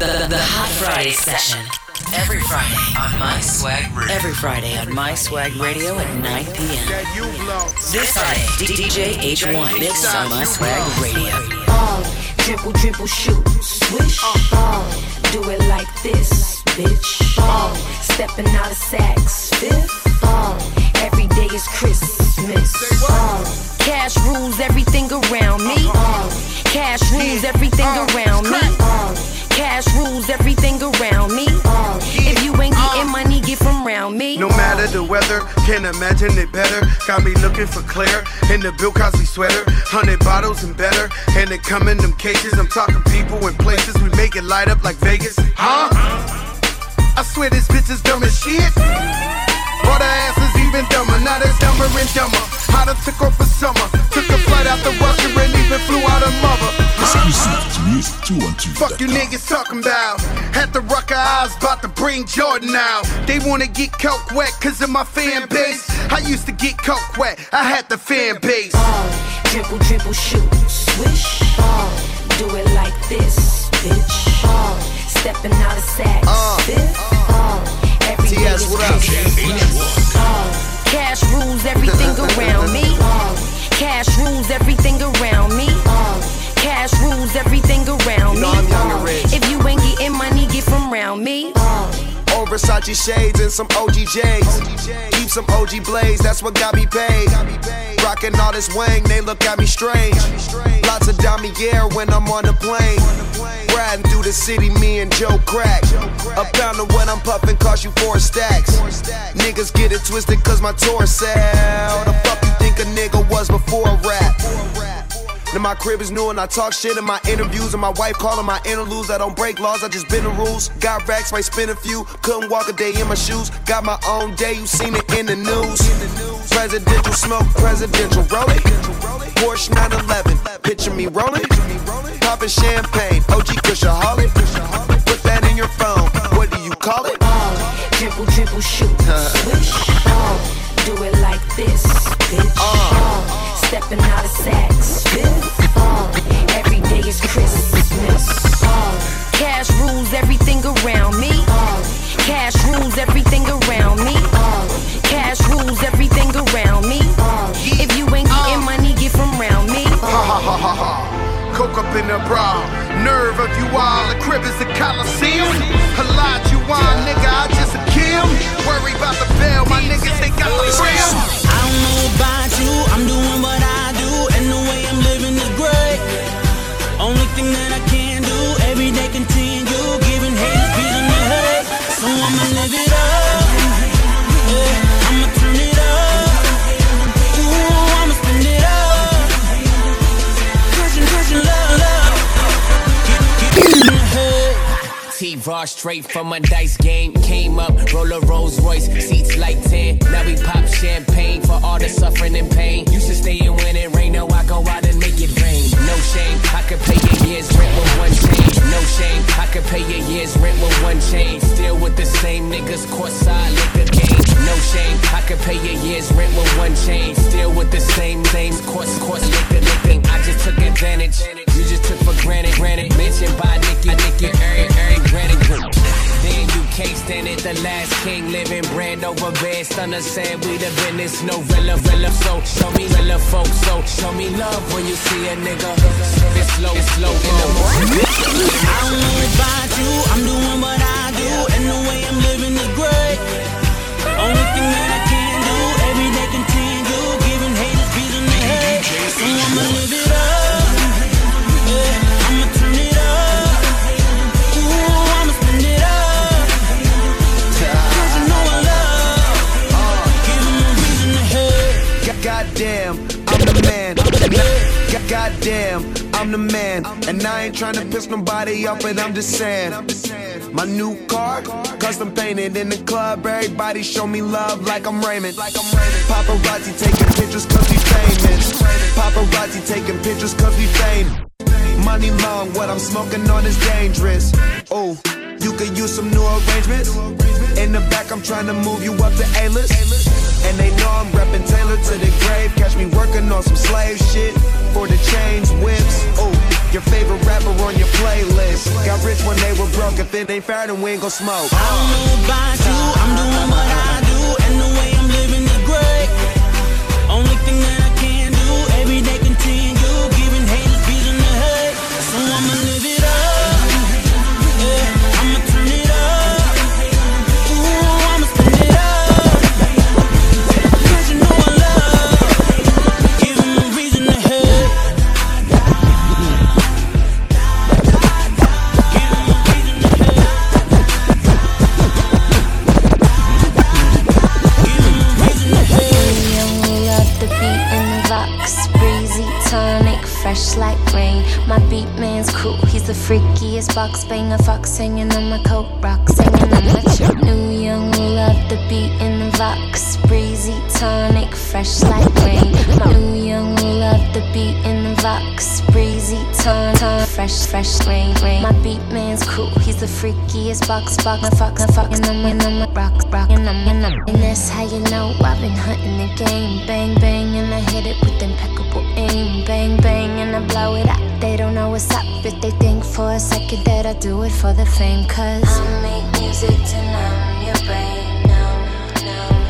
The Hot Friday session. Every Friday on My Swag Radio. Every Friday on My Swag Radio at 9 p.m. This Friday, DJ H1 mix on My Swag Radio. Dribble, dribble, shoot, swish. Do it like this, bitch. Stepping out of Saks Fifth. Every day is Christmas. Cash rules everything around me. Cash rules everything around me. Cash rules everything around me. If you ain't getting money, get from round me. No matter the weather, can't imagine it better. Got me looking for Claire in the Bill Cosby sweater. 100 bottles and better, and they come in them cases. I'm talking people and places, we make it light up like Vegas. Huh? I swear this bitch is dumb as shit. Or the ass is even dumber, now that's dumber and dumber. I done took off for summer, took a flight out to Russia and even flew out of mother. Fuck you niggas talking about. Had the Rucker eyes, about to bring Jordan out. They wanna get coke wet cause of my fan base. I used to get coke wet, I had the fan base. Dribble, dribble, shoot, swish. Do it like this, bitch. Stepping out of Saks Fifth. Every day is Christmas. Cash rules everything around me. Cash rules everything around me. Cash rules everything around me. If you ain't getting money, get from round me. Old Versace shades and some OG J's. Keep some OG blades, that's what got me paid. Rockin' all this Wang, they look at me strange. Lots of damier when I'm on the plane. Riding through the city, me and Joe Crack. A pound of what I'm puffin' cost you 4 stacks. Niggas get it twisted cause my tour sell. The fuck you think a nigga was before rap? Now my crib is new and I talk shit in my interviews. And my wife calling my interludes. I don't break laws, I just bend the rules. Got racks, might spin a few. Couldn't walk a day in my shoes. Got my own day, you seen it in the news. Presidential smoke, presidential rolling. Porsche 911, picture me rolling. Popping champagne, OG Kushaholic. Put that in your phone, what do you call it? Dribble, dribble, shoot, swish. Do it like this, bitch. Stepping out of Saks Fifth. Every day is Christmas. Cash rules everything around me. Cash rules everything around me. Cash rules everything around me. If you ain't getting money, get from round me. Coke up in the bra, nerve of you all. The crib is a coliseum. A lot you want, nigga, I just a kill. Worry about the bail, my niggas, they got the thrill. I don't know about you, I'm doing what I do, and the way I'm living is great. Only thing that I can do, every day continue, giving haters peace in the head. So I'ma live it up, yeah, I'ma turn it up. Ooh, I'ma spend it up. Crushing love. Get in the head. T-Raw straight from a dice game. Came up, roll a Rolls Royce, seats like 10. Now we pop champagne for all the suffering and pain. Used to stay in when it rain, now I go out and make it rain. No shame, I could pay a year's rent with one chain. No shame, I could pay a year's rent with one chain. Still with the same niggas, courtside liquor game. No shame, I could pay a year's rent with one chain. Still with the same course liquor. I just took advantage, you just took for granted. Mentioned by Nicky, granted. Then you can't stand it, the last king living brand over bed. Stunner said we the business, no rilla. So show me rilla folks, so show me love when you see a nigga. It's slow in the morning. I don't know about you, I'm doing what I do, and the way I'm living is great. Only thing that I can do, every day continue, giving haters peace in the head. So I'ma live it up, yeah, I'ma turn it up. Ooh, I'ma spend it up. Cause you know I love, giving me reason to hate. Goddamn, I'm the man. Goddamn, I'm the man. And I ain't tryna piss nobody off, but I'm just saying. My new car, custom painted in the club. Everybody show me love like I'm Raymond. Paparazzi taking pictures cause we famous. Paparazzi taking pictures cause we famous. Money long, what I'm smoking on is dangerous. Oh, you could use some new arrangements. In the back, I'm trying to move you up to A-list. And they know I'm reppin' Taylor to the grave. Catch me working on some slave shit for the chains, whips. Oh, your favorite rapper on your playlist. Got rich when they were broke If it ain't fair, then we ain't gon' smoke. I don't know about you, I'm doing what I do, and the way I'm living is great. Only thing that I can do, every day continue, giving haters reason to hate. So I'ma live it up, yeah, I'ma turn it up, ooh, I'ma spin it up, 'cause you know I love, giving me reason to hate. Fresh like rain, my beat man's cool. He's the freakiest box banger, fox hanging on my coat rock, singing on my chip. New young, love the beat in the Vox, breezy tonic, fresh like rain. My new young, love the beat in the Vox, breezy tonic, fresh rain. My beat man's cool. He's the freakiest box banger, fox fucking on my rock, and that's how you know I've been hunting the game. Bang bang, and I hit it with impeccable aim. Bang bang, and I blow it up. They don't know what's up if they think for a second that I do it for the fame. 'Cause I make music to numb your brain, numb.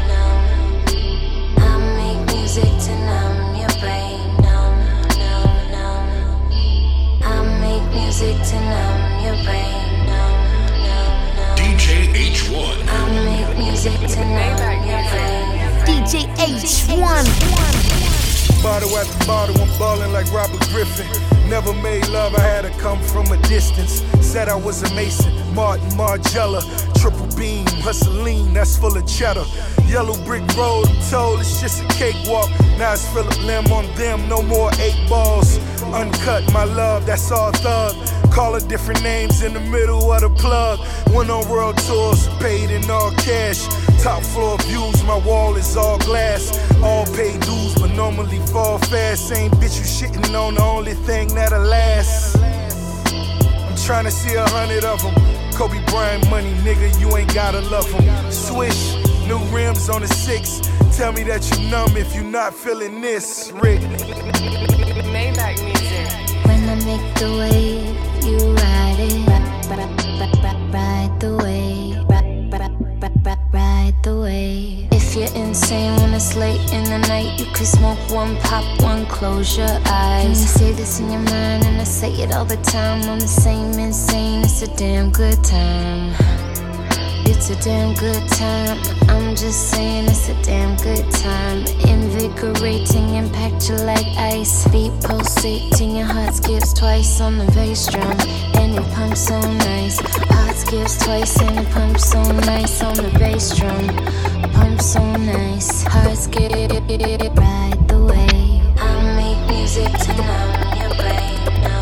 I make music to numb your brain, numb. I make music to numb your brain, numb. DJ H1. I make music to numb your brain. DJ H1. Bottle after bottle, I'm ballin' like Robert Griffin. Never made love, I had to come from a distance. Said I was a Mason, Martin Margiela. Triple beam, hustling, that's full of cheddar. Yellow brick road, I'm told it's just a cakewalk. Now it's Philip Lim on them, no more 8 balls. Uncut, my love, that's all thug. Call her different names in the middle of the plug. Went on world tours, paid in all cash. Top floor views, my wall is all glass. All paid dues, but normally fall fast. Same bitch you shitting on, the only thing that'll last. I'm trying to see 100 of them. Kobe Bryant money, nigga, you ain't gotta love them. Swish, new rims on the 6. Tell me that you numb if you not feeling this, Rick. Maybach music. When I make the wave, you ride it. Ride the wave. Ride the wave. If you're insane when it's late in the night, you could smoke one, pop one, close your eyes. And you say this in your mind, and I say it all the time. I'm the same insane, it's a damn good time. It's a damn good time. I'm just saying it's a damn good time. Invigorating, impact you like ice. Beat pulsating, your heart skips twice on the bass drum, and it pumps so nice. Heart skips twice and it pumps so nice on the bass drum. Pumps so nice. Heart skip, ride the wave. I make music to numb your brain.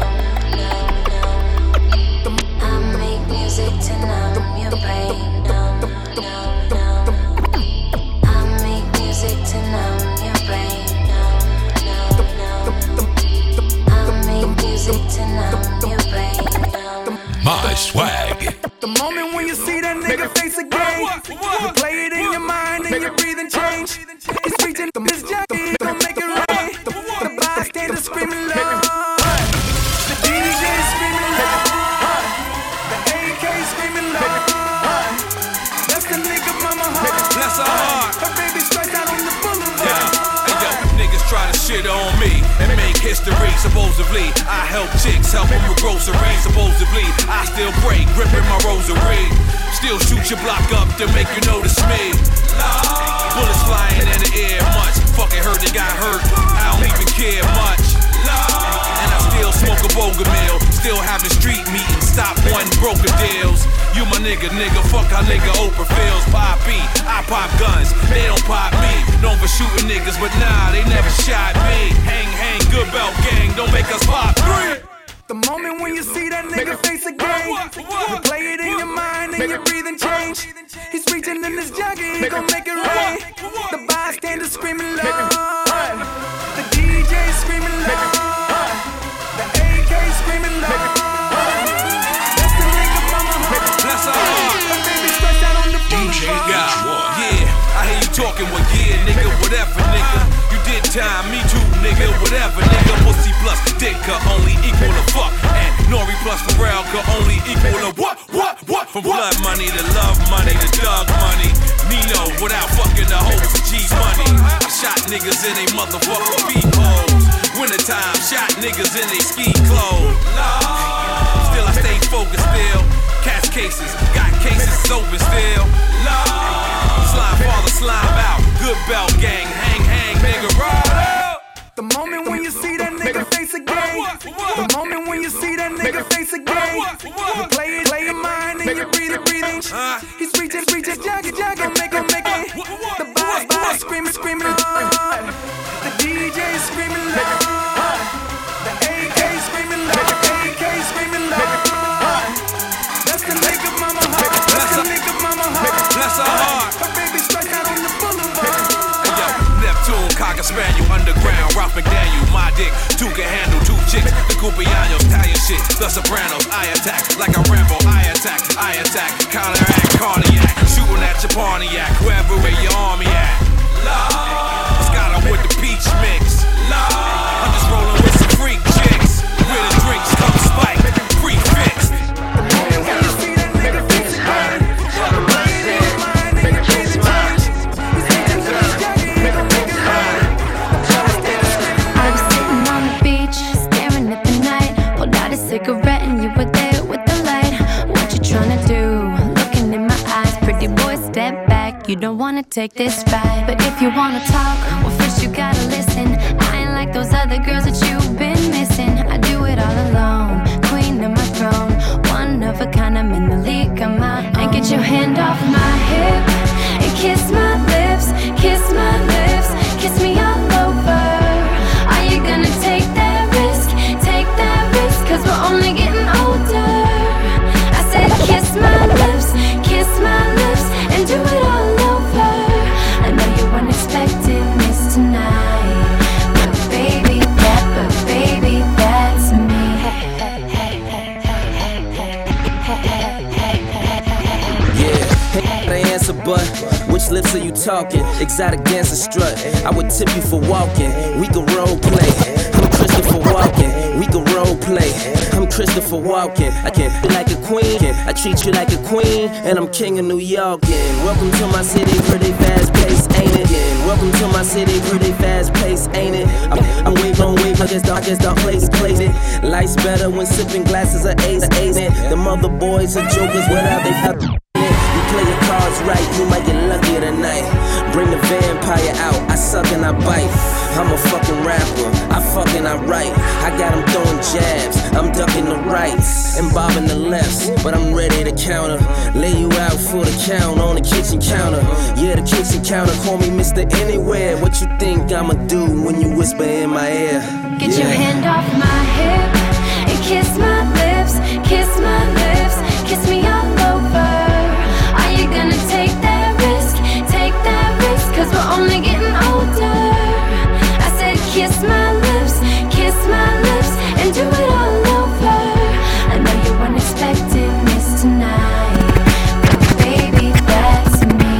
I make music to numb your brain. I make music to numb your brain. I make music to numb your brain. My swag. The moment when you see that nigga face again, you play it in your mind and your breathing change. He's reaching the Miss Jackie, gon' make it rain. The bystanders screaming loud, the DJ screaming loud, the AK screaming loud. That's the nigga mama heart. Bless her heart. Her baby straight out on the boulevard. Hey yo, niggas try to shit on me and make history. Supposedly, I help chicks, help them with groceries. Supposedly, I still pray, gripping my rosary. Still shoot your block up to make you notice me. Bullets flying in the air much. Fucking heard they got hurt. I don't even care much. And I still smoke a boga meal. Still having street meetings. Stop one broker deals. You my nigga, fuck how nigga Oprah feels. Pop B, I pop guns, they don't pop me. Known for shooting niggas, but nah, they never shot me. Hang, good belt gang, don't make us pop 3. The moment when you see that nigga face again, you play it in your mind and your breathing change. He's reaching in his jacket, he gon' make it rain. The bystanders screaming loud, the DJ screaming loud, the AK screaming loud. That's the nigga mama heart. Bless her heart. Her baby stretched out on the boulevard. Yeah, I hear you talking, well yeah, nigga, whatever, nigga. You did time, me too, nigga, whatever, nigga. Pussy plus dick could only equal a fuck, and Nori plus Pharrell could only equal a what? From blood money to love money to thug money. Nino without fucking the hoes of G money. I shot niggas in they motherfucking peepholes. Wintertime, shot niggas in they ski clothes. Still I stay focused still. Cash cases, got cases open still. Slime father, slime out. Good bell gang, hang, nigga, ride out. The moment when you see that nigga face again. The moment when you see that nigga face again. You play your mind and you breathe it. He's reaching, jagger, make it. The boss screaming, Lord. The DJ screaming, Lord. The AK screaming, Lord. That's the nigga mama heart. Bless her heart. Her baby strike out on the boulevard. Neptune, Cocker Spaniel, underground, Ralph McDaniel, my dick, two can handle, two chicks, the Cupianos, Italian shit, the Sopranos, I attack, like a Rambo, I attack, counteract, cardiac, shooting at your Pontiac, wherever where your army at, Scott with the peach mix, I'm just rolling with some freak chicks, where the drinks come spiked, prefixed. Cigarette and you were there with the light. What you tryna do? Looking in my eyes, pretty boy, step back. You don't wanna take this ride, but if you wanna talk, well first you gotta listen. I ain't like those other girls that you've been missing. I do it all alone, queen of my throne, one of a kind. I'm in the league of my own. And get your hand off my hip and kiss my lips, kiss my lips, kiss me all over. Are you gonna take that risk? Take that risk, 'cause we're only getting older. I said kiss my lips, and do it all over. I know you weren't expecting this tonight, but baby, that's me. Yeah, the answer, but which lips are you talking? Exotic dancer strut, I would tip you for walking. We can role play. I'm Christopher Walken, we can role play. I'm Christopher Walken, I can be like a queen. I treat you like a queen, and I'm king of New York. And welcome to my city, pretty fast pace, ain't it? And welcome to my city, pretty fast pace, ain't it? I'm wave, I guess the place it. Life's better when sipping glasses of ace. The mother boys are jokers without they play your cards right, you might get lucky tonight. Bring the vampire out, I suck and I bite. I'm a fucking rapper, I fucking I write. I got him throwing jabs, I'm ducking the rights and bobbing the lefts, but I'm ready to counter. Lay you out for the count on the kitchen counter. Yeah, the kitchen counter, call me Mr. Anywhere. What you think I'ma do when you whisper in my ear? Get your hand off my hip and kiss my lips, kiss my lips, kiss me all over. Are you gonna take that risk? Take that risk, 'cause we're only getting older. I said kiss my lips, and do it all over. I know you weren't expecting this tonight, but baby, that's me.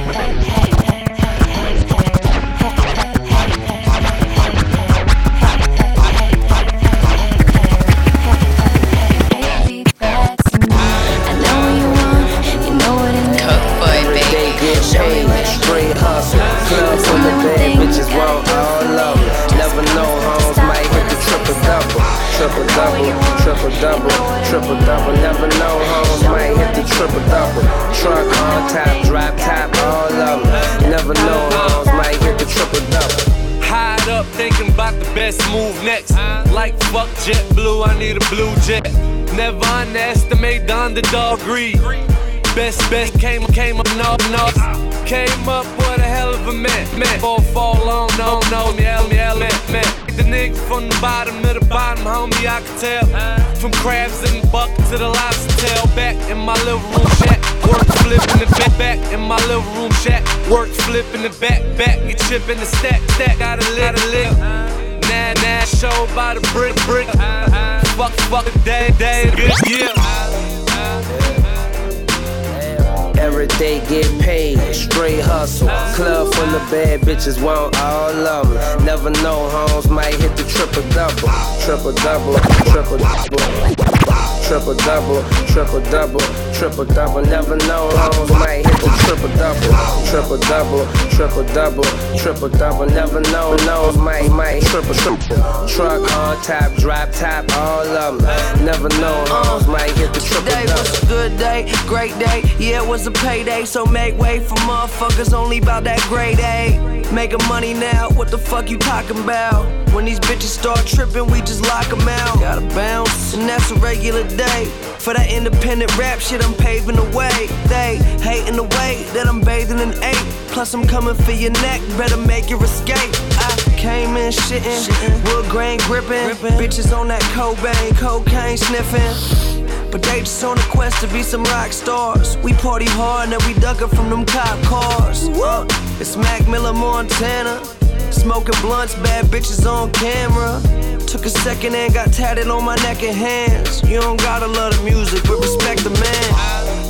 Straight hustle, club full of bad bitches, want all of them. Never know, homes might hit the triple-double. Never know, homes might hit the triple-double. Truck on top, drop top, all of them. Never know, homes might hit the triple-double. Hide up, thinking about the best move next. Like fuck JetBlue, I need a blue jet. Never underestimate the underdog greed. Best came up, no. Came up with a hell of a man. Fall on, no, me, man. The niggas from the bottom of the bottom, homie, I can tell. From crabs in the bucket to the lobster tail. Back in my living room shack, work flipping the back in my living room shack, work flipping the back, get chipping the stack, gotta live. Nah, show by the brick. Fuck the day, good, yeah. Every day get paid, straight hustle. Club full of bad bitches, want all of them. Never know, homes might hit the triple-double. triple double, triple double, triple double. Never know, hoes might hit the triple double, triple double, triple double, triple double. Never know, hoes might triple. Truck on top, drop top, all of them. Never know, hoes might hit the triple double. Today was a good day, great day. Yeah, it was a payday, so make way for motherfuckers only about that grade A. Making money now, what the fuck you talking about? When these bitches start tripping, we just lock them out. Gotta bounce, and that's a regular day. For that independent rap shit, I'm paving the way. They hating the way that I'm bathing in 8. Plus I'm coming for your neck, better make your escape. I came in shitting, wood grain gripping. Bitches on that Cobain, cocaine sniffing. But they just on a quest to be some rock stars. We party hard and then we duckin' from them cop cars. It's Mac Miller, Montana. Smoking blunts, bad bitches on camera. Took a second and got tatted on my neck and hands. You don't gotta love the music, but respect the man.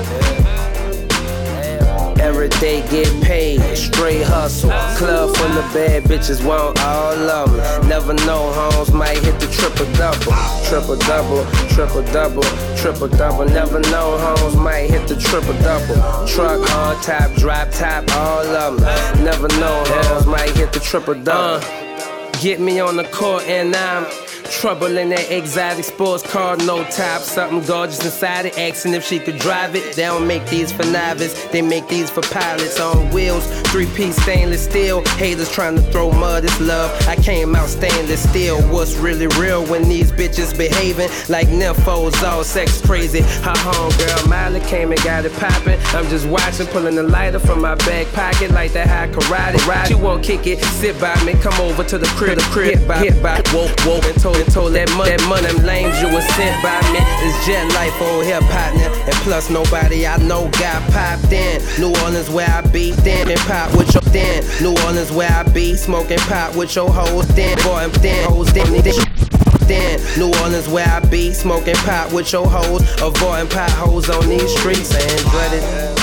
Every day get paid, straight hustle. Club full of bad bitches, want all of them. Never know, hoes might hit the triple double. Triple double, triple double, triple double. Never know, hoes might hit the triple double. Truck on top, drop top, all of them. Never know, hoes might hit the triple double. Get me on the court and I'm trouble in that exotic sports car, no top. Something gorgeous inside it, asking if she could drive it. They don't make these for novice, they make these for pilots on wheels. 3-piece stainless steel, haters trying to throw mud, it's love. I came out stainless steel. What's really real when these bitches behaving like nymphos, all sex crazy? Her homegirl Miley came and got it poppin'. I'm just watching, pulling the lighter from my back pocket like that high karate. Ride, you won't kick it, sit by me, come over to the crib, hit by, woke, and told that money, them lames you was sent by me. It's jet life on here, partner. And plus nobody I know got popped in. New Orleans where I be, then and pop with your then. New Orleans where I be, smoking pot with your hoes, then boy, then hoes, then. New Orleans where I be, smoking pot with your hoes, avoiding potholes on these streets and dreaded.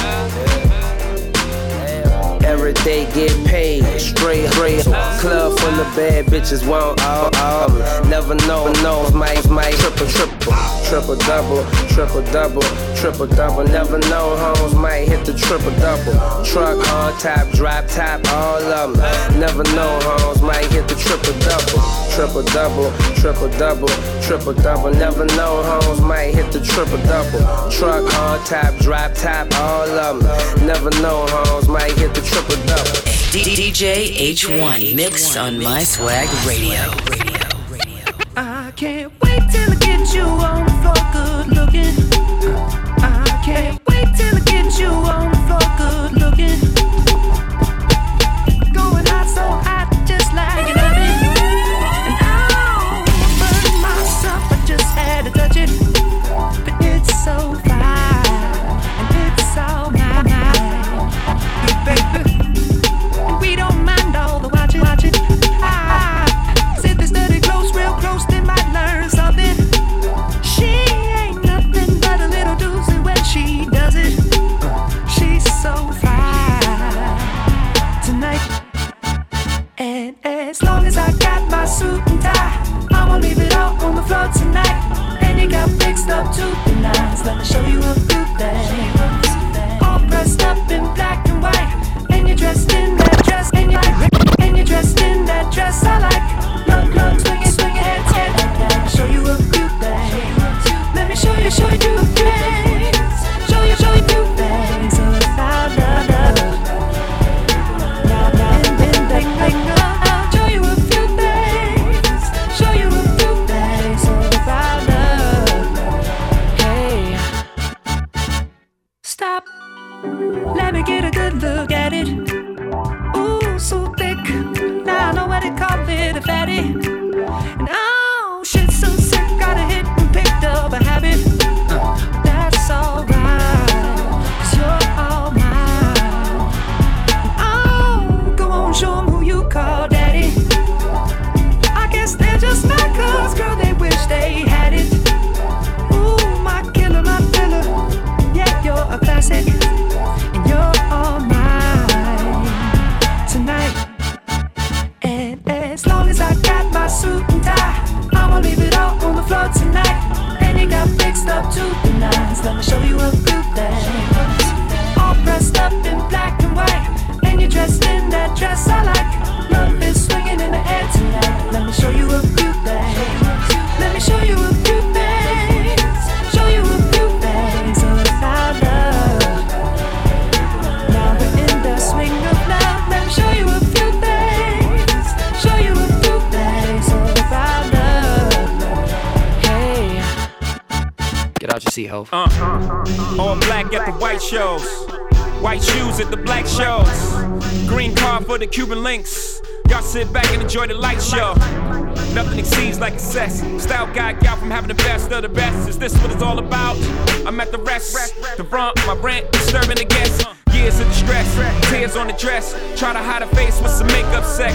Every day get paid, straight. Club full of bad bitches, want all. Never know, might triple double, triple double, triple double. Never know, hoes might hit the triple double. Truck on top, drop top, all of them. Never know, hoes might hit the triple double. Triple double, triple double, triple double. Never know, hoes might hit the triple double. Truck on top, drop top, all of them. Never know, hoes might hit the triple double. DJ H1 mix on My Swag Radio. I can't wait till I get you on the floor, good looking. I can't wait till I get you on the floor, good looking. Going hot, so hot, just like an oven. And I'll burn myself, I just had to touch it. But it's so fine, and it's all mine. Good baby. We don't mind all the watching. Sit this study close, real close, they might learn something. She ain't nothing but a little doozy when she does it. She's so fine tonight. And as long as I got my suit and tie, I won't leave it all on the floor tonight. And you got fixed up to the nines. Let me show you a few things. All dressed up in black and white, and you're dressed in that dress, and you're dressed in that dress I like. Look, swing your head, let me show you a few things. Let me show you a few things. Show you a few things about love. Now, and then, show you a few things. Show you a few things about love. Hey, stop. Let me get a good look at it. Ooh, so thick. Now I know what they call it, a fatty. And oh, shit, so sick. Got a hit and picked up a habit. That's alright, 'cause you're all mine. And oh, go on, show 'em who you call daddy. I guess they're just mad 'cause, girl, they wish they had it. Ooh, my killer, my filler. Yeah, you're a classic. And you're all mine tonight. And as long as I got my lines. Let me show you a few things. All dressed up in black and white, and you're dressed in that dress I like. Love is swinging in the air tonight. Let me show you a few things. Let me show you a few things. Show you a few things about love. Now we're in the swing of love. Let me show you a few things. Show you a few things about love. Hey, get out your seat, ho. All black at the white shows, white shoes at the black shows, green car for the Cuban links. Y'all sit back and enjoy the light show. Nothing exceeds like excess. Style guide y'all from having the best of the best. Is this what it's all about? I'm at the rest. The front, my rent, disturbing the guests. Years of distress, tears on the dress. Try to hide a face with some makeup sex.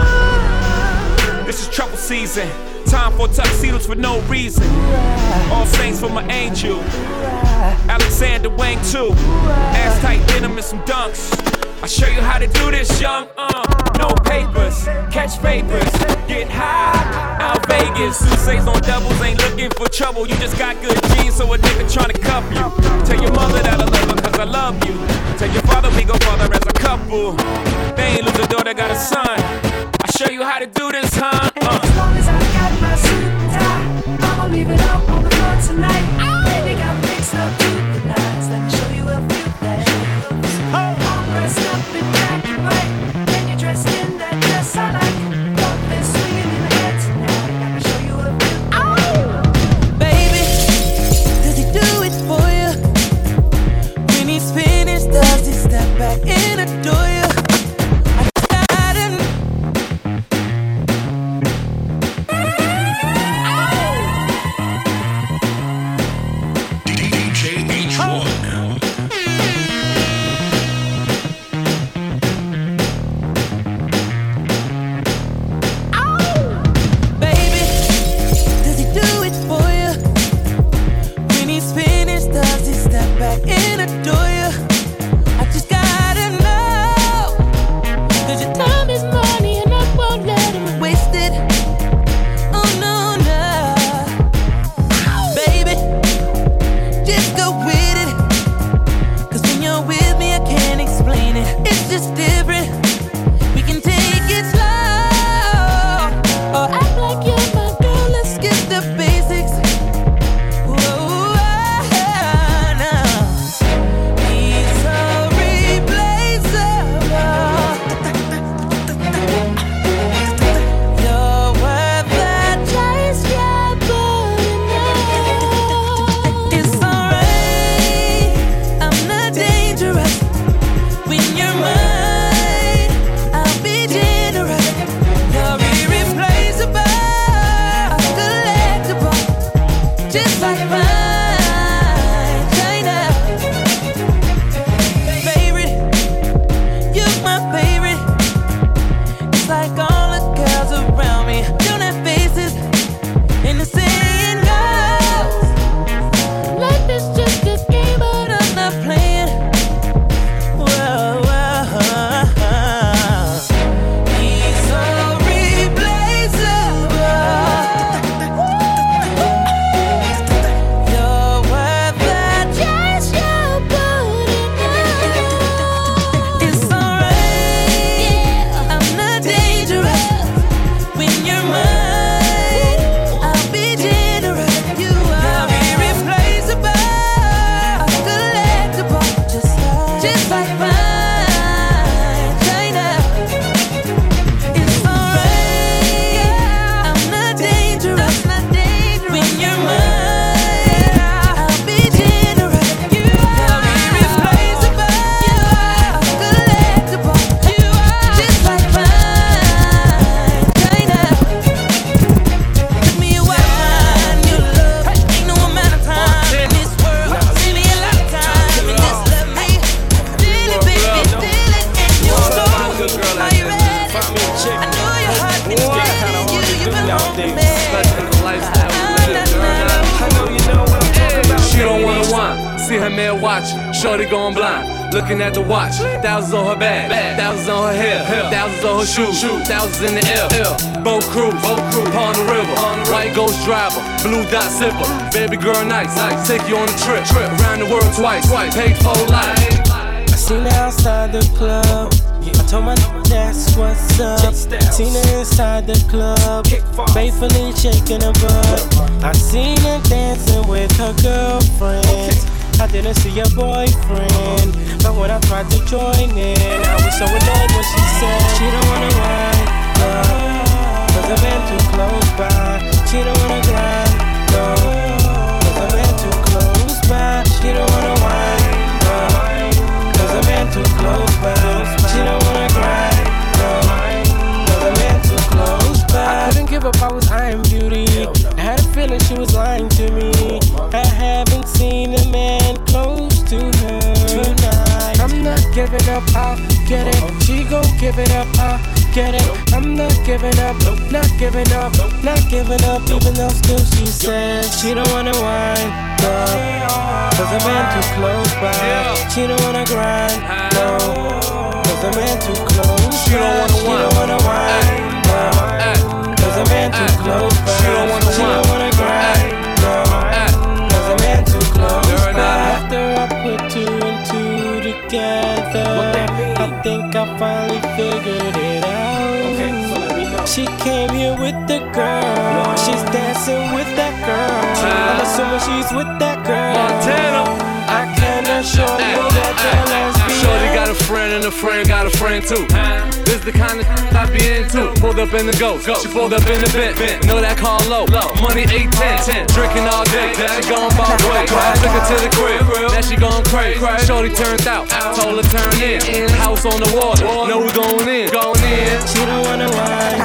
This is trouble season. Time for tuxedos for no reason. All saints for my angel. Alexander Wang too. Ass tight denim and some dunks. I'll show you how to do this, young. No papers, catch vapors, get high, out Vegas. Sousa's on doubles, ain't looking for trouble. You just got good genes, so a nigga tryna cuff you. Tell your mother that I love her, cause I love you. Tell your father we go father as a couple. They ain't lose a daughter, got a son. I'll show you how to do this, huh? As long as I got my suit and tie, I'ma leave it up on the floor tonight. Baby got mixed up to the nines. Let me show you a few things. All dressed up in black and white, and you're dressed in that dress I like. Love is swinging in the air tonight. Let me show you a few things. Baby, does he do it for you? When he's finished, does he step back and adore you? See her man watching, shorty going blind. looking at the watch. Thousands on her bag, thousands on her hair, thousands on her shoes, thousands in the air. Boat cruise, upon the river. White ghost driver, blue dot sipper. Baby girl nice, take you on a trip around the world twice. Paid for life. I seen her outside the club. I told my that's what's up. Seen her inside the club, faithfully shaking her butt. I seen her dancing with her girlfriends. I didn't see your boyfriend, but when I tried to join in, I was so annoyed when she said she don't wanna ride, cause the man too close by. She don't wanna grind, no, cause the man too close by. She don't wanna ride, cause the man too close by. She don't wanna grind, no, cause the man too close by. I couldn't give up, I was eyeing beauty. I had a feeling she was lying to me. I haven't seen a man close to her tonight. I'm not giving up, I'll get it. She gon' give it up, I'll get it. I'm not giving up, not giving up, not giving up. Even though still she says she don't wanna whine, no, cause the man too close by. She don't wanna grind, no, cause the man too close. She don't wanna whine, no, cause the man too close by. She don't wanna grind, no, cause the man too close by. After I put two and two together, I think I finally figured it out. She came here with the girl. She's dancing with that girl. I'm assuming she's with that girl. Montana. I can assure you that they're lesbian. Shorty got a friend and a friend got a friend too. This the kind of I be into. Pulled up in the ghost, she pulled up in the bent. Know that car low, money 810. Drinking all day, she gone by way. Took her to the crib, now she gone crazy. Shorty turned out, told her turn in. House on the water, know we going in. She don't wanna ride,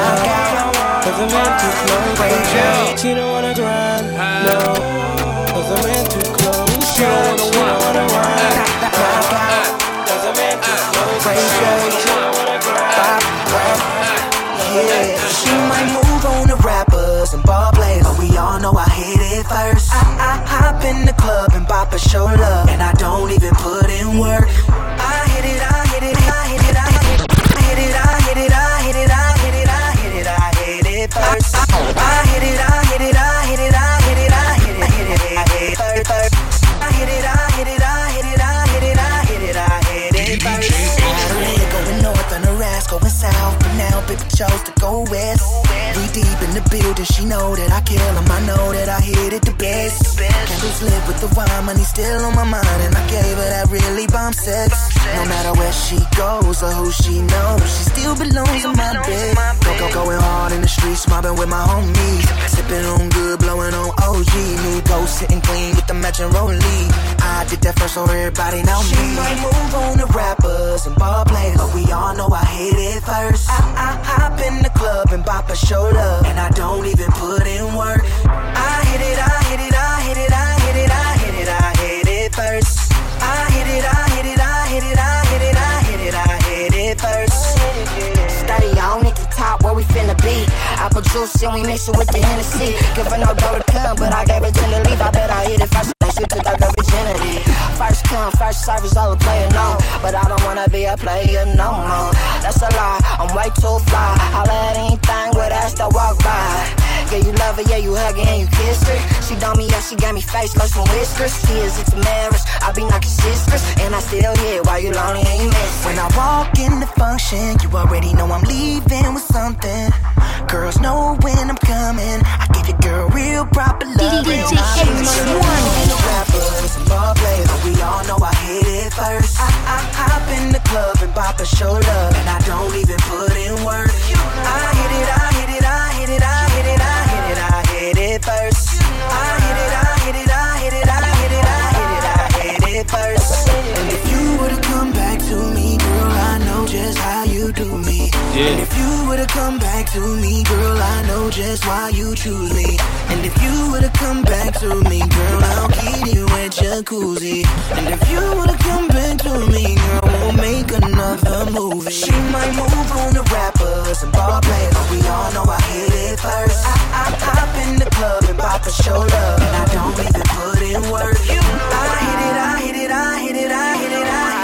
cause the man too close. She don't wanna grind, no, cause the man too close. She don't wanna ride, cause the man too close. She don't wanna grind. Yeah, she might move on to rappers and ball players, but we all know I hit it first. I hop in the club and bop a show love, and I don't even put in work. I hit it, I hit it, I hit it, I hit it, I hit it, I hit it, I hit it, I hit it, I hit it, I hit it first. I hit it, I hit it, I hit it, I hit it, I hit it, hit it, I hit it first. I hit it, I hit it, I hit it, I hit it, I hit it, I hit it first. Saturday going north on the rest, going south, but now baby chose to go west. We deep in the building, she know that I kill him, I know that I hit it the best. Candles lit with the wine, money still on my mind, and I gave her that really bomb sex. No matter where she goes or who she knows, she still belongs in my bed. Going hard in the streets, mobbing with my homies, sipping on good, blowing on OG. New ghost sitting clean with the matching rollie. I did that first so everybody know me. She might move on to rappers and ball players, but we all know I hit it first. I hop in the club and bop a show love, and I don't even put in work. I hit it, I hit it, I hit it, I hit it, I hit it, I hit it first. I hit it, I hit it, I hit it, I hit it, I hit it, I hit it first. Study on at the top where we finna be. Apple juice and we mix it with the Hennessy. Give her no dough to come, but I gave her 10 to leave. I bet I hit it first. She took out her virginity. First come, first service, all the player know. But I don't wanna be a player no more. That's a lie, I'm way too fly. I'll let anything with ass that walk by. Yeah, you love her, yeah, you hug her and you kiss her. She done me up, she got me face, lost some whiskers. She is into marriage, I be knocking sisters. And I still here while you lonely and you miss. When I walk in the function, you already know I'm leaving with something. Girls know when I'm coming. I give your girl real proper love. DJ H1. Rappers and ball players, but we all know I hit it first. I hop in the club and bop a show love, and I don't even put in work. I hit it, I hit it, I hit it, I hit it, I hit it, I hit it first. I hit it, I hit it, I hit it, I hit it, I hit it, I hit it first. And if you were to come back to me, girl, I know just how you do me. Yeah. And if you were to come back to me, girl, I know just why you choose me. And if you were to come back to me, girl, I'll keep you at jacuzzi. And if you were to come back to me, girl, we'll make another movie. She might move on to rappers and ball players, but we all know I hit it first. I hop in the club and bop a show love, and I don't even put in work. I hit it, I hit it, I hit it, I hit it, I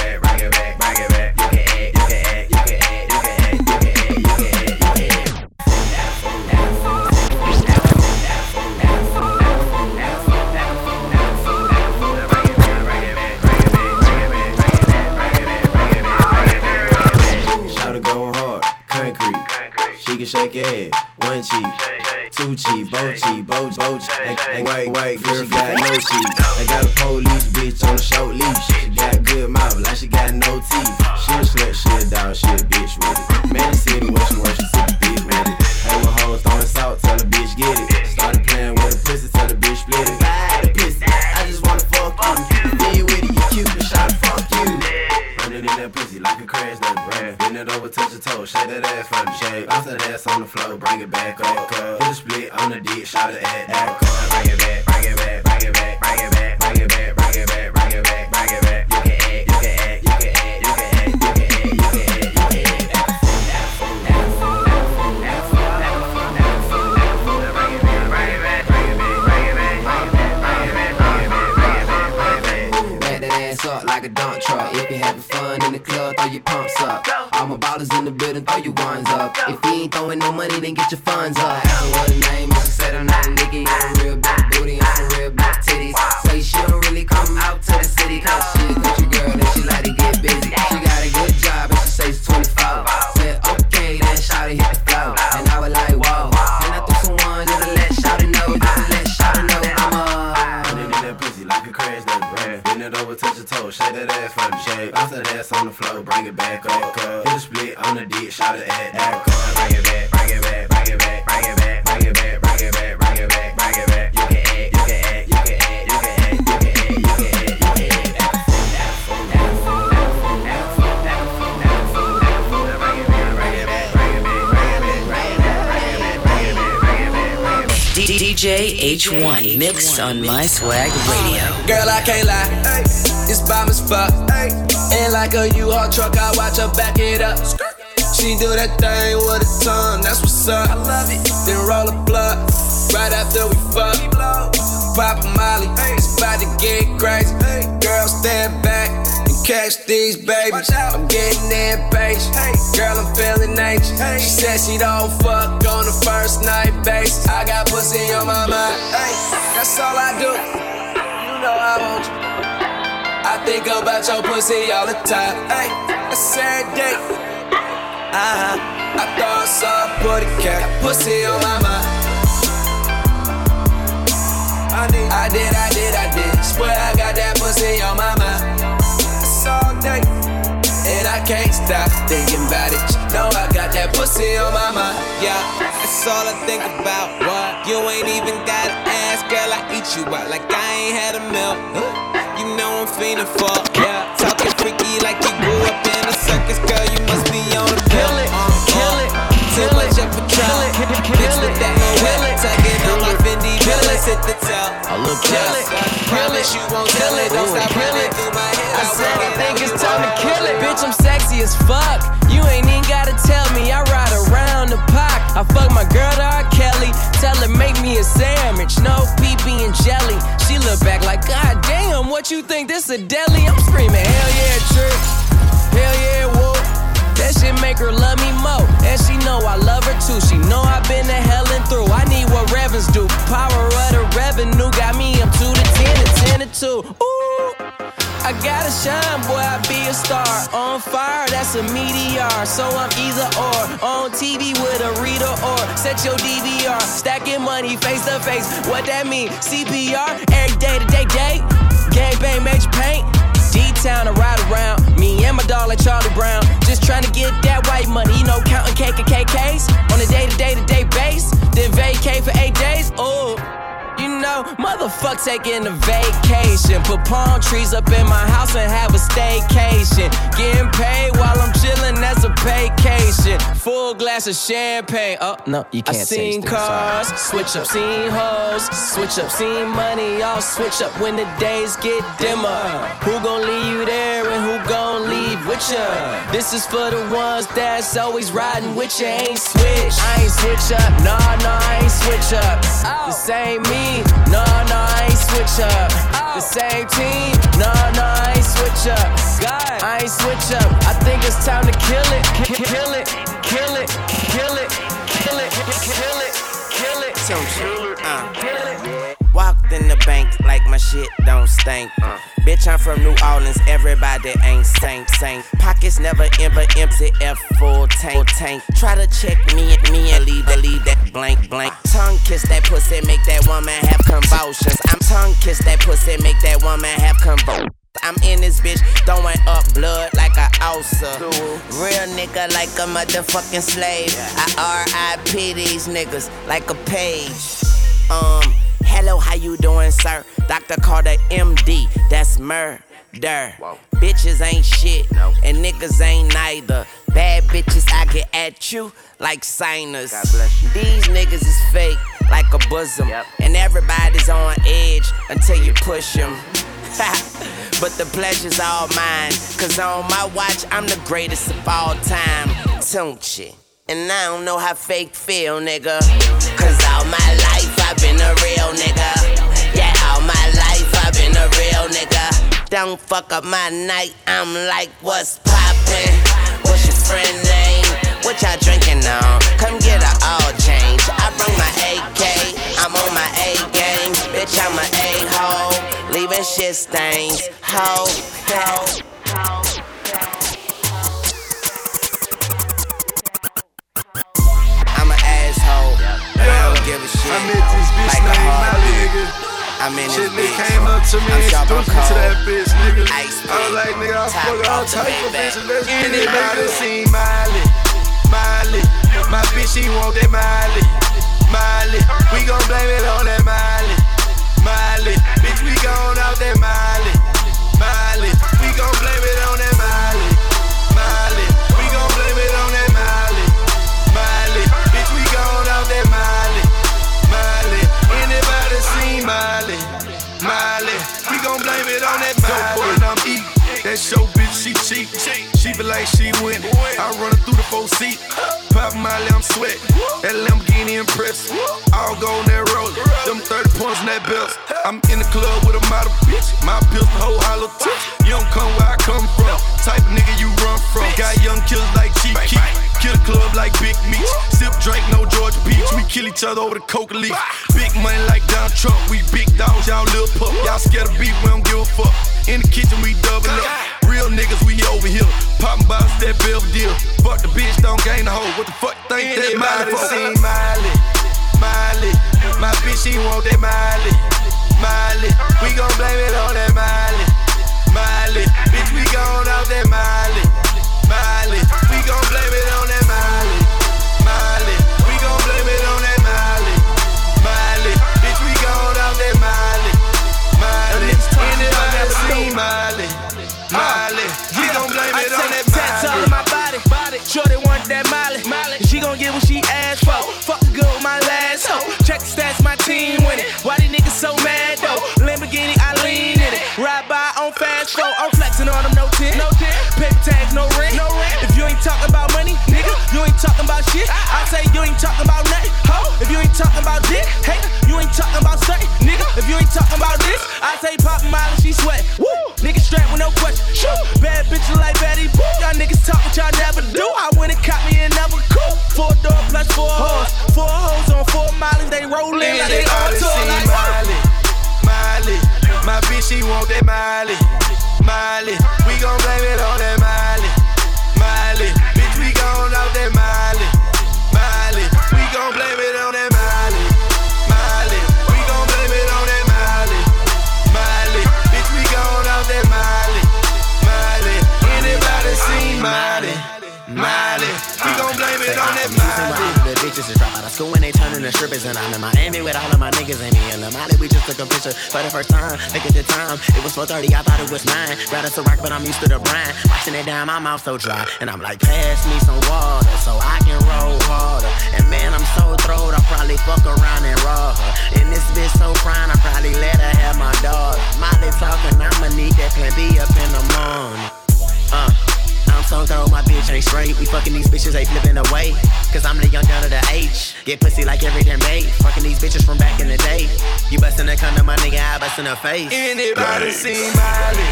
rat, Yeah, one cheek, two cheek, both cheek, both and wait, girl got no cheek. I got a police bitch on a short leash. She got good mouth like she got no teeth. She a slut, she a dog, she a bitch with it. Man, the city where she works, she sit the bitch with it. Hey, with hoes throwing salt, tell the bitch get it. Started playing with the pussy, tell the bitch split it. Buy the pussy, I just wanna fuck you. Then you with it, you cute, but shot fuck you. Running in that pussy like a crash nut, bruh. Bend it over, touch your toe, shake that ass from the shake. Bounce that ass on the floor, bring it back up. Hit a split on the dick, shot it at that. Bring it back, bring it back, bring it back, bring it back, bring it back, bring it back, bring it back, bring it back. You can act, you can act, you can act, you can act, you can act, you can act, you can act. Up like a dump truck. If you having fun in the club, throw your pumps up. All my ballers in the building, throw your ones up. If you ain't throwing no money, then get your funds up. Ask her what her name is, she said her name Nikki. On real big booty and some real big titties. Say she don't really come out to the city, cause she a country girl and she like to get busy. She got a good job and she say she's 24. Said okay, then shawty hit the flow. And I was like, whoa. And I threw some ones just to let shawty know, just to let shawty know I'm running in that pussy like a crash nut, bruh. Bend it over, touch your toe, shake that ass from the shake. Bounce that ass on the floor, bring it back up. Hit a split on the dick, shot it at that. Bring it back, bring it back, bring it back, bring it back, bring it back, bring it back, bring it back, bring it back. You can act, you can act, you can act, you can act, you can act, you can act, you can act. DJ H1 mix on My Swag Radio. Girl, I can't lie, it's bomb as fuck. And like a U-Haul truck, I watch her back it up. She do that thing with her tongue, that's what's up. I love it. Then roll a blunt right after we fuck. Pop a Molly, it's about to get crazy. Girl, stand back and catch these babies. I'm getting impatient. Girl, I'm feeling anxious. She said she don't fuck on the first night basis. I got pussy on my mind. That's all I do. You know I want you. I think about your pussy all the time. I said date. I thought I saw a booty cat. Pussy on my mind. I did. Swear I got that pussy on my mind. It's all day, and I can't stop thinking about it. You know I got that pussy on my mind. Yeah, that's all I think about. What? You ain't even gotta ask, girl. I eat you out like I ain't had a meal. You know I'm fiending for. Yeah, talking freaky like you grew up in a circus, girl. You must be on a pill. Kill it. Too much of a trial. Bitch with that wet, tugging on my Fendi Villas, hit the top. I look jealous. Promise you won't tell it. Don't stop running through my head. I said I think it's time to kill it. Bitch, I'm sexy as fuck. You ain't even gotta tell me. I ride around the park. I fuck my girl to R. Kelly. Tell her make me a sandwich, no PB and jelly. She look back like, God damn, what you think this a deli? I'm screaming, hell yeah, trick. Hell yeah, whoa. That shit make her love me more. And she know I love her too. She know I've been to hell and through. I need what Revens do. Power of the revenue got me up 2 to 10 and 10 to 2. Ooh, I gotta shine, boy, I be a star. On fire, that's a meteor. So I'm either or. On TV with a reader or set your DVR. Stacking money face to face. What that mean? CPR, every day to day. Gang bang, major paint. D-Town to ride around. Me and my dog like Charlie Brown. Just trying to get that white money. You know, counting KKKs on a day-to-day base. Then vacate for 8 days. Ooh, you know, motherfuck taking a vacation. Put palm trees up in my house and have a staycation. Getting paid while I'm chilling, that's a vacation. Full glass of champagne. Oh, no, you can't taste it. I seen cars, switch up, seen hoes, switch up, seen money. I'll switch up when the days get dimmer. Who gon' leave you there and who gon' leave with ya? This is for the ones that's always riding with ya. Ain't switch, I ain't switch up. Nah, I ain't switch up. This ain't me. Nah, I ain't switch up. The same team. Nah, I ain't switch up. God, I ain't switch up. I think it's time to kill it. Kill it. Kill it. Kill it. Kill it. Kill it. Kill it. Walked in the bank like my shit don't stink. Bitch, I'm from New Orleans, everybody ain't saint. Pockets never ever empty, F full tank. Try to check me and leave that blank. Tongue kiss that pussy, make that woman have convulsions. I'm tongue kiss that pussy, make that woman have convulsions. I'm in this bitch, throwing up blood like a ulcer. Real nigga like a motherfucking slave. I R.I.P. these niggas like a page. Hello, how you doing, sir? Dr. Carter, MD, that's murder. Bitches ain't shit, and niggas ain't neither. Bad bitches, I get at you like signers. These niggas is fake like a bosom, and everybody's on edge until you push them. But the pleasure's all mine, cause on my watch, I'm the greatest of all time. Don't you? And I don't know how fake feel, nigga. Cause all my life I've been a real nigga. Yeah, all my life I've been a real nigga. Don't fuck up my night, I'm like, what's poppin'? What's your friend name? What y'all drinking on? Come get a all change. I bring my AK, I'm on my A game. Bitch, I'm a A-hole, leaving shit stains. Ho. Give a shit. I met this bitch like named Molly, nigga. I'm in this bitch. Came up to me and introduced me to that bitch, nigga. I was like, nigga, I fuck all type of bitches. Let's get it, nigga. See Molly. My bitch, she want that Molly. We gon' blame it on that Molly. Bitch, we gon' out that Molly. We gon' blame it on that Molly. We gon' blame it on that Molly. Bitch, we gon' out that Molly. Anybody seen Molly? We gon' blame it on that Molly. When I'm eating, that show bitch, she cheap. She be like she winning. I run her through the 4-seat. Pop Molly, I'm sweating. That Lamborghini impressive. All gold in that roller. Them 30 points in that belt. I'm in the club with a model bitch. My pistol whole hollow tip. You don't come where I come from. Type of nigga you run from. Got young killers like Chief Keef. Kill the club like Big Meech. Sip drink, no Georgia Peach. We kill each other over the coca leaf. Big money like Donald Trump. We big dogs, y'all little pup. Y'all scared of beef, we don't give a fuck. In the kitchen, we double up. Real niggas, we over here. Poppin' bottles, that Belvedere. Fuck the bitch, don't gain the hoe. What the fuck think that Molly for? Seen Molly. My bitch, she want that Molly. We gon' blame it on that Molly. Bitch, we gon' out that Molly. We gon' blame it on that Molly. We gon' blame it on that Molly. Bitch, we gon' out that Molly. Anybody seen Molly? We gon' blame it on that Molly. Tats all in my body. Shorty want that Molly. She gon' get what she asked for. Fuck good with my last hoe. Check the stats, my team winning. Why these niggas so mad though? Lamborghini, I lean in it. Ride by on fast flow. I'm flexing on them, no tint. Paper tags, no rent. If you ain't talking about money, nigga, you ain't talking about shit. I say you ain't talking about nothing, ho. If you ain't talking about dick, hey, you ain't talking about something, nigga. If you ain't talking about this, I say pop Molly, she sweat. Woo, nigga strapped with no question. Shoot, bad bitches like Betty Boo. Y'all niggas talk what y'all never do. I went and caught me another coupe. 4 door plus 4 hoes. 4 hoes on 4 Mollies, they rollin' like they all tour like Molly. My bitch, she want that Molly. We gon' blame it on that Molly. Bitch, we gon' out that Molly. We gon' blame it on that Molly. We gon' blame it on that Molly. Bitch, we gon' out that Molly. Anybody seen Molly? We gon' blame it on that Molly. The bitches is drop out of school and they turnin' to strippers. And I'm in Miami with all of my niggas and me and Molly. We just took a picture for the first time. Look at the time, it was 4:30, I thought it was 9. Rather to rock, but I'm used to the brine. Washing it down, my mouth so dry. And I'm like, pass me some water so I can roll harder. And man, I'm so throwed, I'll probably fuck around and raw her. And this bitch so fine, I'll probably let her have my daughter. Molly talking, I'ma need that plan B up in the morning. I'm so cold, my bitch ain't straight. We fucking these bitches, they flipping away. Cause I'm the young gun of the H. Get pussy like every damn day. Fucking these bitches from back in the day. You bustin' a condom, my nigga, I bustin' her face. Anybody seen Molly?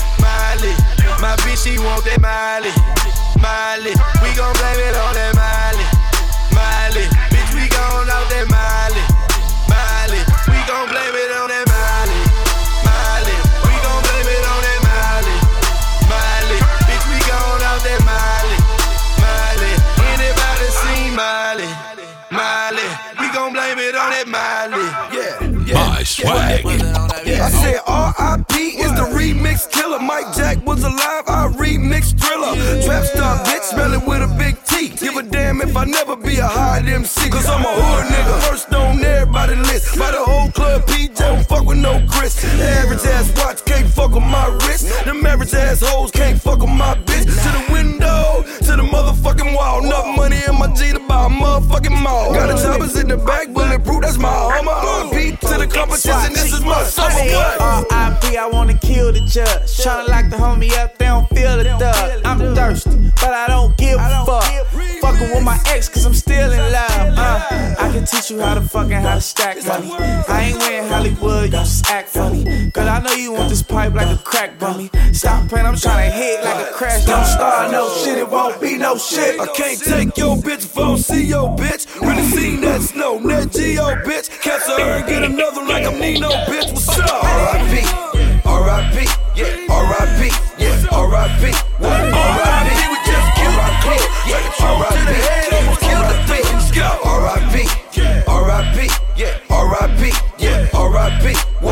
My bitch, she want that Molly. We gon' blame it on that Molly. Bitch, we gon' out that Molly. We gon' blame it on that Molly. I said R.I.P. is the remix killer. Mike Jack was alive, I remixed Thriller. Trap star bitch, smelling with a big T. Give a damn if I never be a high MC. Cause I'm a hood nigga, first on everybody's list. By the whole club, PJ don't fuck with no Chris. The average ass watch can't fuck with my wrist. Them average ass hoes can't fuck with my bitch. To the window, to the motherfucking wall. Enough money in my G to buy a motherfucking mall. Got the choppers in the back, bulletproof, that's my armor. R.I.P. to the competition, this is my summer. R.I.P. I wanna kill the judge. Tryna lock the homie up, they don't feel the thug. I'm thirsty, but I don't give a fuck. Fucking with my ex, cause I'm still in love. I can teach you how to stack money. I ain't wearing Hollywood, you just act funny. Cause I know you want this pipe like a crack bummy. Stop playing, I'm tryna hit like a crash. Don't start no shit, it won't be no shit. I can't take your bitch if I don't see your bitch. Really seen that snow, Net Geo bitch. Catch her and get another like I'm Nino bitch. What's up? R.I.P. R.I.P. Yeah, R.I.P. Yeah, R.I.P. R.I.P. We just killed R.I.P. Yeah, R.I.P. to the head, almost killed the thing. R.I.P. R.I.P. Yeah, R.I.P. Yeah, R.I.P.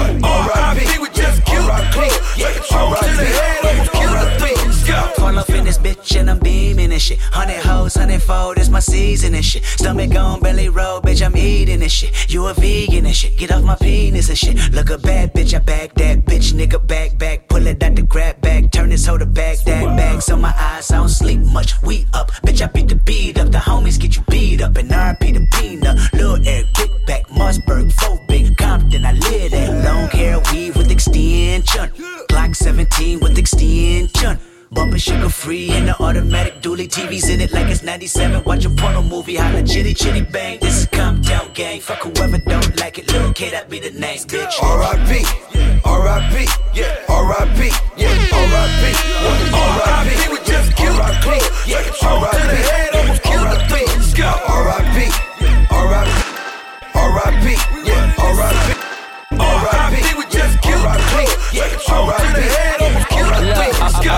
R.I.P. We just killed R.I.P. Yeah, R.I.P. to the head, almost killed the thing. Pull up in this bitch and I'm beaming and shit. 100 hoes, 100-fold, it's my season and shit. Stomach on belly roll, bitch, I'm eating and shit. You a vegan and shit, get off my penis and shit. Look a bad bitch, I bag that bitch, nigga back. Pull it out the grab bag, turn this hoe to bag that bag. So my eyes, I don't sleep much, we up. Bitch, I beat the beat up, the homies get you beat up. And R.I.P. the peanut, Lil Eric, Kickback, Mossberg, 4 Big Compton. I live that long hair weave with extension. Glock 17 with extension. Bumpin' sugar free in the automatic dually. TV's in it like it's 97. Watch a porno movie, holla chitty chitty bang. This is Compton gang. Fuck whoever don't like it. Lil' K, that be the name, bitch. R.I.P. R.I.P. Yeah, R.I.P. Yeah, R.I.P. R.I.P. We just killed R.I.P. Yeah, R.I.P. to the head, almost killed the thing. R.I.P. R.I.P. R.I.P. Yeah, R.I.P. R.I.P. We just killed R.I.P. Yeah, R.I.P. to the head, almost killed the thing.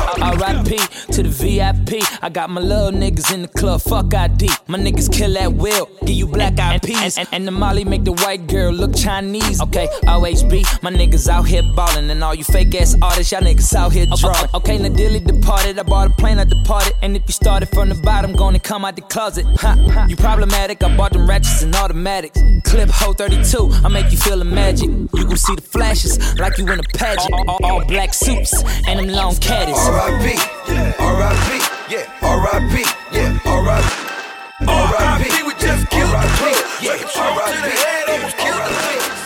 R.I.P. to the VIP. I got my little niggas in the club, fuck ID. My niggas kill at will, give you black eyed peas. And the Molly make the white girl look Chinese. Okay, OHB, my niggas out here ballin'. And all you fake ass artists, y'all niggas out here drawing. Okay, now Dilly departed, I bought a plane, I departed. And if you started from the bottom, gonna come out the closet. You problematic, I bought them ratchets and automatics. Clip Ho 32, I make you feel the magic. You gon' see the flashes like you in a pageant. All black suits and them long caddies. R.I.P. R.I.P. Yeah, R.I.P. Yeah, R.I.P. R.I.P. We just killed R.I.P. Yeah, R.I.P. to the head, almost killed the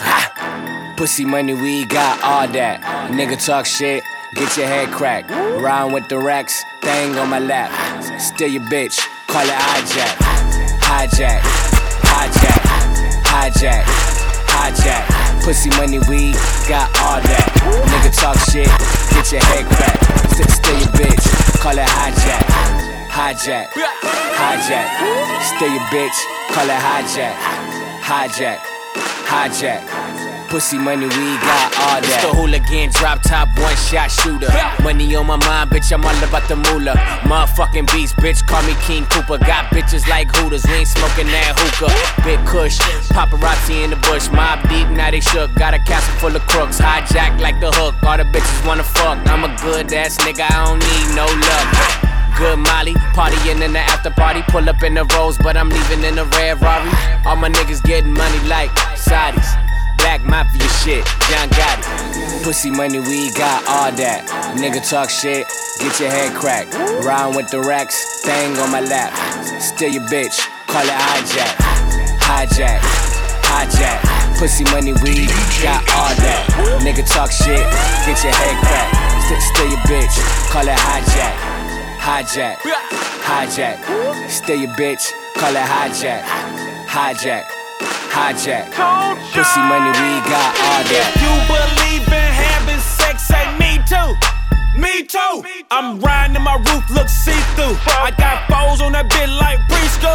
thing. Pussy money, we got all that. Nigga talk shit, get your head cracked. Round with the racks, thing on my lap. Steal your bitch, call it hijack. Hijack, hijack, hijack, hijack. Pussy money, we got all that. Nigga talk shit, get your head cracked. Steal your bitch, call it hijack. Hijack, hijack. Steal your bitch, call it hijack. Hijack, hijack. Pussy money, we got all that. It's the hooligan, drop top, one shot shooter. Money on my mind, bitch, I'm all about the moolah. Motherfucking beast, bitch, call me King Cooper. Got bitches like Hooters, we ain't smoking that hookah. Big Kush, paparazzi in the bush. Mob deep, now they shook. Got a castle full of crooks, hijack like the hook. All the bitches wanna fuck. I'm a good ass nigga, I don't need no luck. Good Molly, partying in the after party. Pull up in the Rolls, but I'm leaving in a red Rari. All my niggas getting money like Saudis. Black Mafia shit, John Gotti. Pussy money, we got all that. Nigga talk shit, get your head cracked. Round with the racks, thing on my lap. Steal your bitch, call it hijack. Hijack, hijack. Pussy money, we got all that. Nigga talk shit, get your head cracked. Steal your bitch, call it hijack. Hijack, hijack. Steal your bitch, call it hijack. Hijack. Hijack, pussy money, we got all that. If you believe in having sex, say me too. Me too. I'm riding and my roof looks see-through. I got foes on that bit like preschool.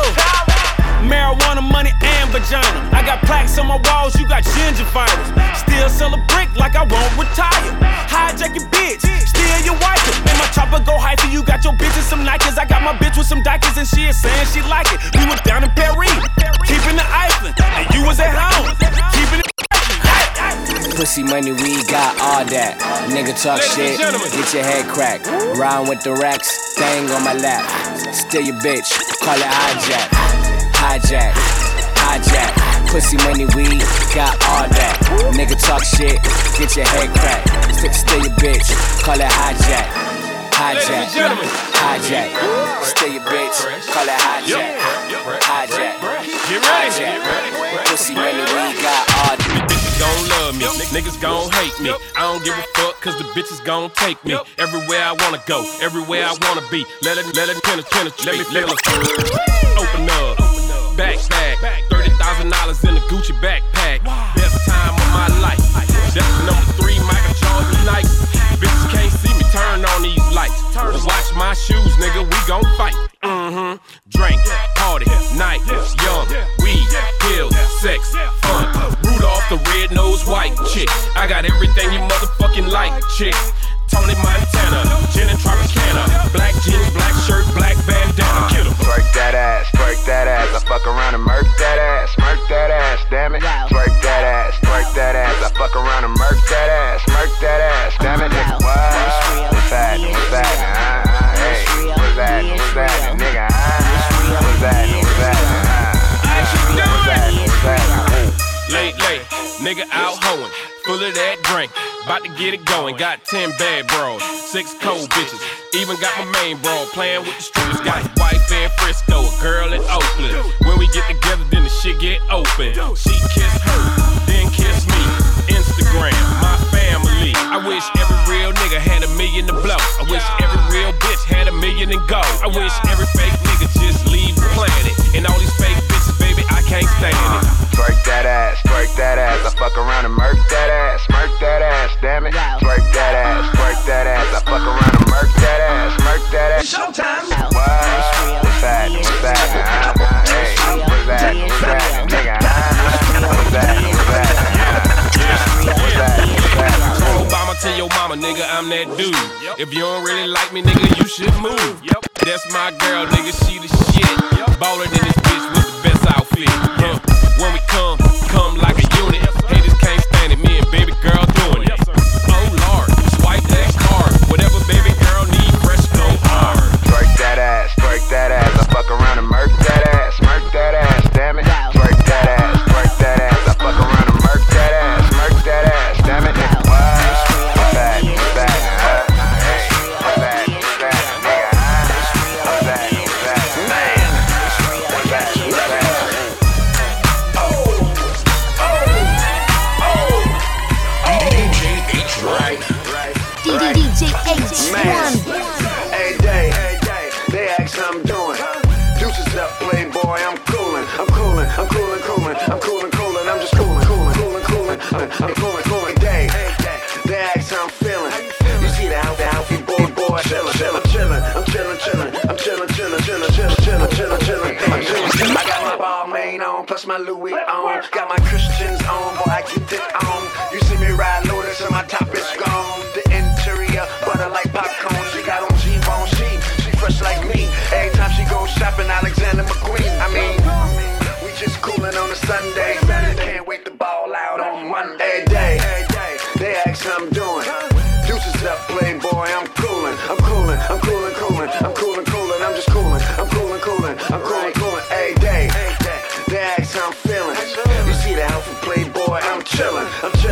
Marijuana, money, and vagina. I got plaques on my walls, you got gingivitis. Still sell a brick like I won't retire. Hijack your bitch, steal your wife. And my chopper go hyphy, you got your bitch in some Nikes. I got my bitch with some Dikers and she is saying she like it. We were down in Paris, keeping the Iceland. And you was at home, keeping it. Pussy money, money, we got all that. Nigga talk shit, get your head cracked. Rhyme with the racks, thing on my lap. Steal your bitch, call it hijack. Hijack, hijack. Pussy money, we got all that. Nigga talk shit, get your head cracked. Steal your bitch, call it hijack. Hijack, hijack. Steal your bitch, call it hijack. Hijack, hijack. Pussy money, we got all that. Bitches gon' love me, niggas gon' hate me. I don't give a fuck, cause the bitches gon' take me everywhere I wanna go, everywhere I wanna be. Let it penetrate, let me feel it. Open up, backpack, $30,000 in a Gucci backpack. Best time of my life. That's number 3, Michael Jordan night. Bitches can't see me, turn on these lights. Watch my shoes, nigga, we gon' fight. Drink, party, night, young, weed, pills, sex, fun. Rudolph the red-nosed white chick. I got everything you motherfucking like, chick. Tony Montana, gin and Tropicana. Black jeans, black shirt, black bandana. Kill 'em. Twerk that ass, twerk that ass. I fuck around and murk that ass, damn it. Twerk that ass, twerk that ass. I fuck around and murk that ass, damn it. Nigga, what? What's that? What's that? Hey, what's that? What's that? Nigga, what's that? What's that? What's that? Late, nigga out hoeing, full of that drink, about to get it going. Got 10 bad bros, 6 cold bitches, even got my main bro playing with the strippers. Got a wife in Frisco, a girl in Oakland. When we get together, then the shit get open. She kiss her, then kiss me. Instagram, my family. I wish every real nigga had $1 million to blow. I wish every real bitch had $1 million and go. I wish every fake nigga just leave the planet. And all these fake bitches, baby, I can't stand it. Twerk that ass, twerk that ass. I fuck around and murk that ass, damn it. Twerk that ass, twerk that ass. I fuck around and murk that ass, It's showtime. What? What's that? What's that? Hey, what's that? What's that? Nigga, what's that? What's that? Obama to your mama, nigga, I'm that dude. If you don't really like me, nigga, you should move. That's my girl, nigga, she the shit. Ballin' in this bitch with the best outfit. When we come like a unit. Haters can't stand it, me and baby girl doing it. Oh Lord, swipe that card. Whatever baby girl need, fresh go hard. Twerk that ass, twerk that ass. I fuck around and murk that ass, damn it. Twerk that ass, twerk that ass. I fuck around and murk that ass, damn it. What? What's that? What's that? Hey, what's that? What's that? Nigga, what's that? What's that? Man, what's that? What's that? DJ H1. Hey, they ask how I'm doing. Deuces up, playboy, I'm coolin'. I'm just coolin'. I'm coolin'. They ask how I'm feeling. You see the outfit, boy, I'm chillin'. I got my Balmain on, plus my Louis on. Got my Christians on, boy, I get it on. You see me ride Lotus and my top is gone. The interior, butter like popcorn. She got on G-bone, she fresh like me. Every time she goes shopping, Alexander McQueen. I mean, we just coolin' on a Sunday. Can't wait to ball out on Monday. They ask how I'm doing. Deuces up, playboy, I'm coolin'. I'm just coolin'. Hey, they ask how I'm feeling. You see the outfit, playboy, I'm chillin'. I'm just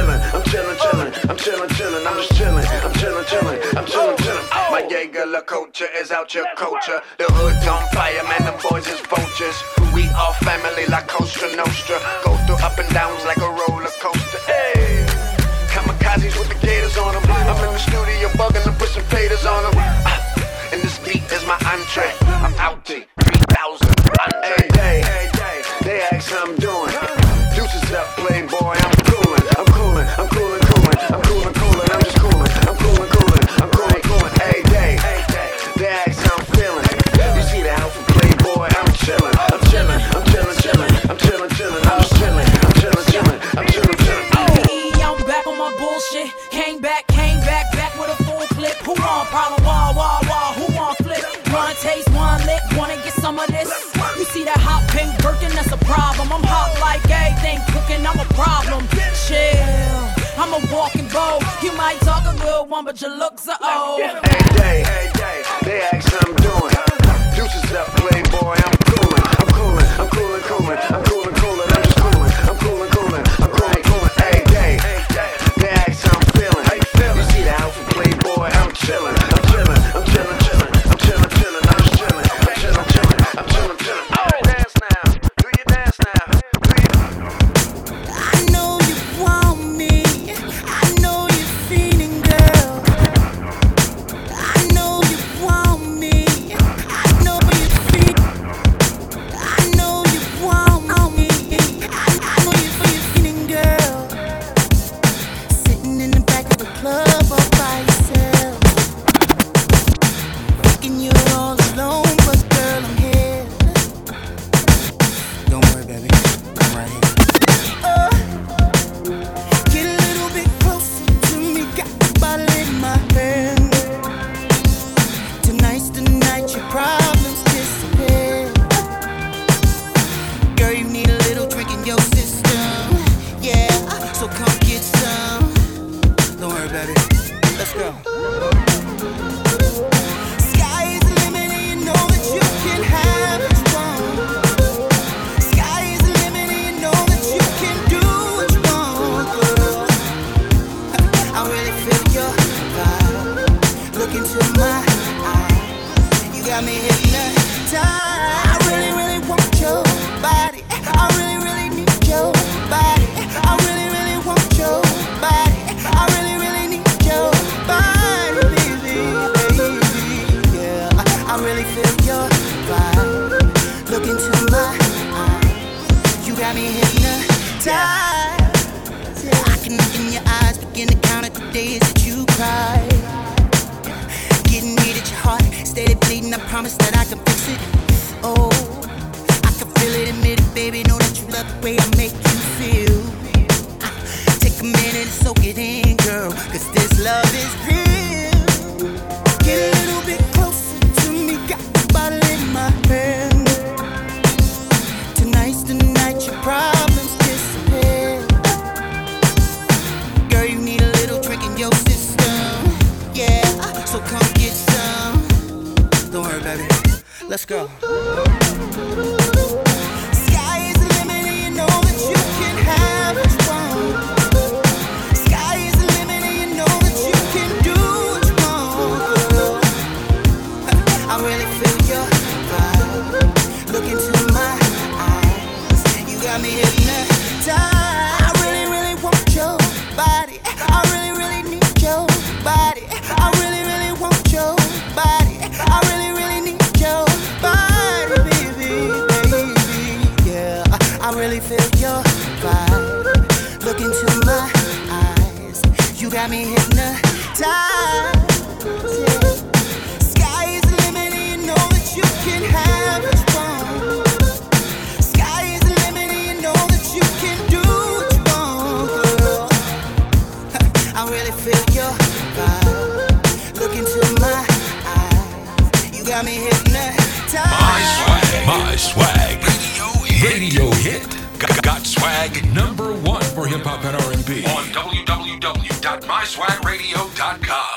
chillin'. My Jaeger La Culture is out your culture. The hood's on fire, man, them boys is vultures. We all family like Costa Nostra. Go through up and downs like a roller coaster. Hey, kamikazes with the gators on them. I'm in the studio bugging to put some faders on them. And this beat is my entree. I'm out to 3,000. Hey, they ask how I'm doing. Deuces up, playboy, I'm coolin'. I'm just coolin'. Hey, they ask how I'm feeling. You see the outfit, playboy, I'm chillin'. I'm just chillin'. I'm back on my bullshit. Came back with a full clip. Who want problem? Wah. Who want flip? One taste, one lick. Wanna get some of this? You see that hot pink Birkin? That's a problem. I'm hot like everything cooking. I'm a problem. Chill. I'm a walking bow. You might talk a good one, but your looks are old. Hey, they ask how I'm doing. Deuces up, playboy, I'm coolin', I'm coolin', I'm coolin', coolin', I'm coolin', coolin', I'm just coolin', I'm coolin', coolin', I'm coolin', coolin'. Hey, they ask how I'm feelin'. You see the house with playboy, I'm chillin', I'm chillin', I'm chillin', chillin', I'm chillin', chillin', I'm just chillin', I'm chillin', chillin', I'm chillin', chillin'. Oh, dance now, do your dance now, do your. I know you want me, I know you're feeling, girl. I know you want me, I know you feel. I know you want me, I know you're feeling, girl. Sitting in the back of the club all by yourself, thinking you're all alone, but girl, I'm here. Don't worry, baby. I'm right here. Get a little bit closer to me, got the bottle in my hand. Tonight's the night your problems disappear. Girl, you need a little drink in your system. Yeah, so come get some. Don't worry, baby. Let's go. Sky is the limit and you know that you can have what you want. Sky is the limit and you know that you can do what you want, girl. I really feel your vibe. Look into my eyes. You got me hypnotized. I really, really want your body. I really, really need your body. I really, really want your body. I really, really need your body, baby, baby. Yeah, I really feel your vibe. Look into my eyes. You got me hypnotized. I can look in your eyes, begin to count the days that you cried. Getting me at your heart, steady bleeding. I promise that I can fix it. Oh, I can feel it, admit it, baby. Know that you love the way I make you feel. Take a minute and soak it in, girl, 'cause this love is real. Get a little bit closer to me, got the bottle in my hand. Tonight's the night your problems disappear. Girl, you need a little drink in your system. Yeah, so come get some. Don't worry, baby. Let's go. Sky is the limit and you know that you can have what you want. Sky is the limit and you know that you can do what you want, girl. I really feel your vibe. Look into my eyes. You got me hypnotized. I really, really want your body. I really, really need your body. I really, really want your body. I really, really need your body, baby, baby. Yeah, I really feel your vibe. Look into my eyes. You got me hypnotized. Yeah. Sky is the limit and you know that you can have what you want. Sky is the limit and you know that you can do what you want, girl. I really feel your vibe. Look into my eyes. You got me hypnotized. My swag. Radio hit. Got swag #1 for hip hop and R&B on www.myswagradio.com.